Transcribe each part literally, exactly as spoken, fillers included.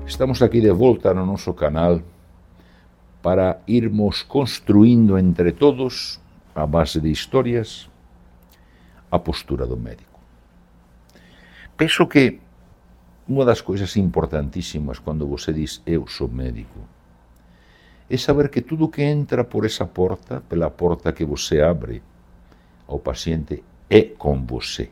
Estamos aqui de volta no nosso canal para irmos construindo entre todos, a base de histórias, a postura do médico. Penso que uma das coisas importantíssimas quando você diz eu sou médico é saber que tudo que entra por essa porta, pela porta que você abre ao paciente, é com você.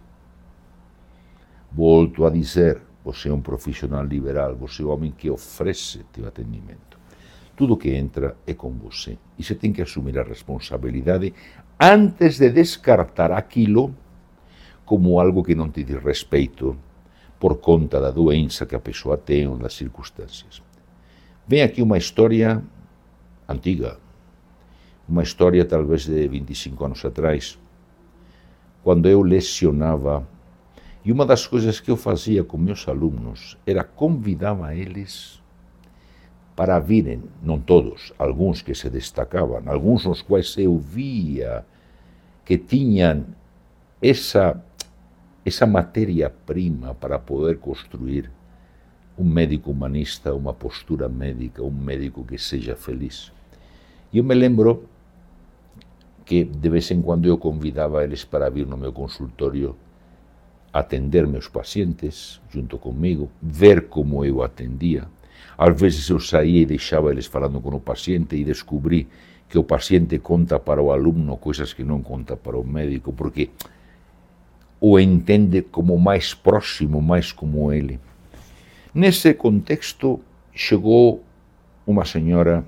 Volto a dizer, você é um profissional liberal, você é o homem que oferece teu atendimento. Tudo que entra é com você. E você tem que assumir a responsabilidade antes de descartar aquilo como algo que não te diz respeito por conta da doença que a pessoa tem ou das circunstâncias. Vem aqui uma história antiga, uma história talvez de vinte e cinco anos atrás, quando eu lecionava. E uma das coisas que eu fazia com meus alunos era convidava eles para virem, não todos, alguns que se destacavam, alguns nos quais eu via que tinham essa, essa matéria-prima para poder construir um médico humanista, uma postura médica, um médico que seja feliz. E eu me lembro que de vez em quando eu convidava eles para vir no meu consultório atender meus pacientes junto comigo, ver como eu atendia. Às vezes eu saía e deixava eles falando com o paciente e descobri que o paciente conta para o aluno coisas que não conta para o médico, porque o entende como mais próximo, mais como ele. Nesse contexto chegou uma senhora,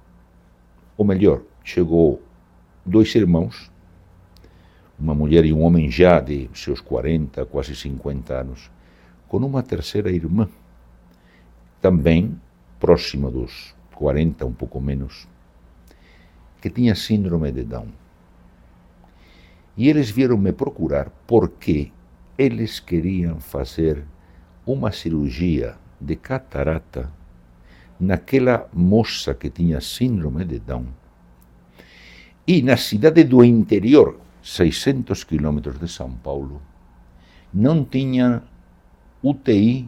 ou melhor, chegou dois irmãos, uma mulher e um homem já de seus quarenta, quase cinquenta anos, com uma terceira irmã, também próxima dos quarenta, um pouco menos, que tinha síndrome de Down. E eles vieram me procurar porque eles queriam fazer uma cirurgia de catarata naquela moça que tinha síndrome de Down. E na cidade do interior, seiscentos quilômetros de São Paulo, não tinha U T I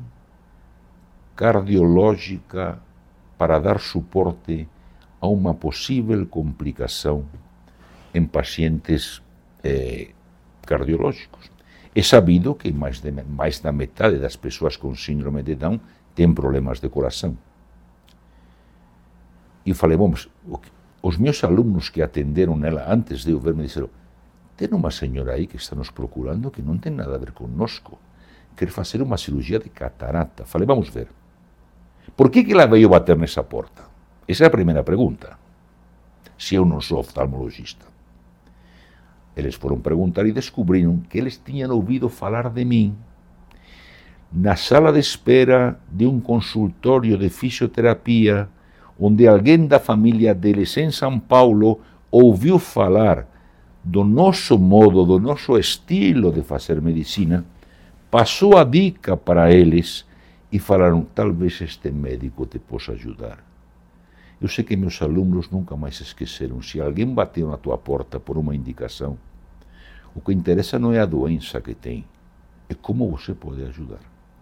cardiológica para dar suporte a uma possível complicação em pacientes eh, cardiológicos. É sabido que mais, de, mais da metade das pessoas com síndrome de Down têm problemas de coração. E eu falei, bom, os meus alunos que atenderam nela antes de eu ver me disseram, tem uma senhora aí que está nos procurando que não tem nada a ver conosco. Quer fazer uma cirurgia de catarata. Falei, vamos ver. Por que que ela veio bater nessa porta? Essa é a primeira pergunta. Se eu não sou oftalmologista. Eles foram perguntar e descobriram que eles tinham ouvido falar de mim na sala de espera de um consultório de fisioterapia, onde alguém da família deles em São Paulo ouviu falar do nosso modo, do nosso estilo de fazer medicina, passou a dica para eles e falaram, talvez este médico te possa ajudar. Eu sei que meus alunos nunca mais esqueceram, se alguém bateu na tua porta por uma indicação, o que interessa não é a doença que tem, é como você pode ajudar.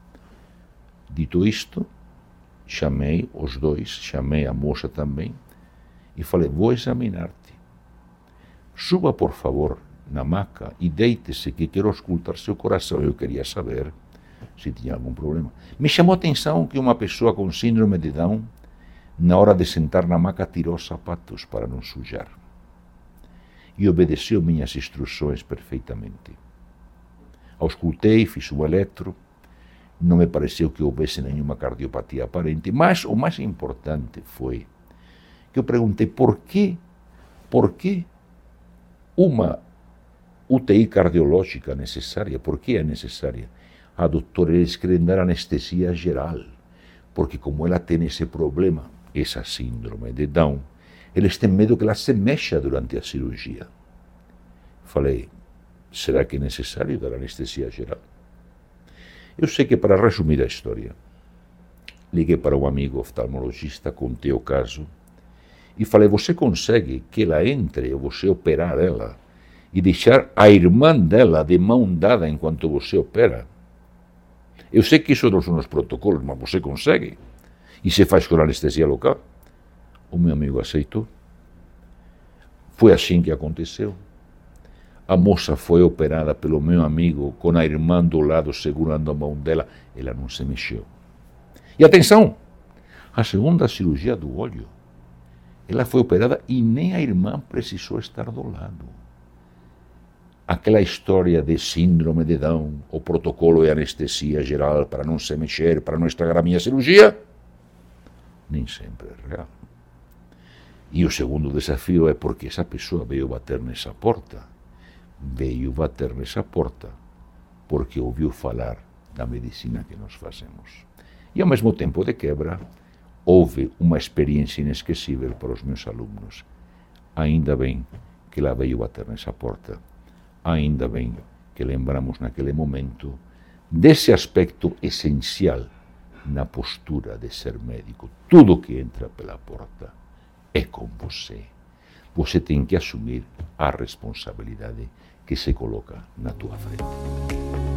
Dito isto, chamei os dois, chamei a moça também, e falei, vou examinar-te. Suba, por favor, na maca e deite-se que quero auscultar seu coração. Eu queria saber se tinha algum problema. Me chamou a atenção que uma pessoa com síndrome de Down, na hora de sentar na maca, tirou os sapatos para não sujar. E obedeceu minhas instruções perfeitamente. Auscultei, fiz o eletro, não me pareceu que houvesse nenhuma cardiopatia aparente, mas o mais importante foi que eu perguntei por que, por que uma U T I cardiológica necessária. Por que é necessária? A doutora, eles querem dar anestesia geral, porque como ela tem esse problema, essa síndrome de Down, eles têm medo que ela se mexa durante a cirurgia. Falei, será que é necessário dar anestesia geral? Eu sei que, para resumir a história, liguei para um amigo oftalmologista, contei o caso, e falei, você consegue que ela entre, ou você operar ela, e deixar a irmã dela de mão dada enquanto você opera? Eu sei que isso não são os protocolos, mas você consegue? E se faz com anestesia local. O meu amigo aceitou. Foi assim que aconteceu. A moça foi operada pelo meu amigo com a irmã do lado segurando a mão dela. Ela não se mexeu. E atenção, a segunda cirurgia do olho, ela foi operada e nem a irmã precisou estar do lado. Aquela história de síndrome de Down, o protocolo de anestesia geral para não se mexer, para não estragar a minha cirurgia, nem sempre é real. E o segundo desafio é porque essa pessoa veio bater nessa porta. Veio bater nessa porta porque ouviu falar da medicina que nós fazemos. E ao mesmo tempo de quebra, houve uma experiência inesquecível para os meus alunos. Ainda bem que ela veio bater nessa porta. Ainda bem que lembramos naquele momento desse aspecto essencial na postura de ser médico. Tudo que entra pela porta é com você. Você tem que assumir a responsabilidade que se coloca na tua frente.